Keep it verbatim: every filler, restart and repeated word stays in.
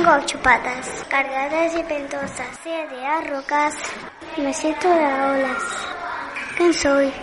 Tengo ocho patas, cargadas y pentosas, siete rocas. Me siento de olas. ¿Quién soy?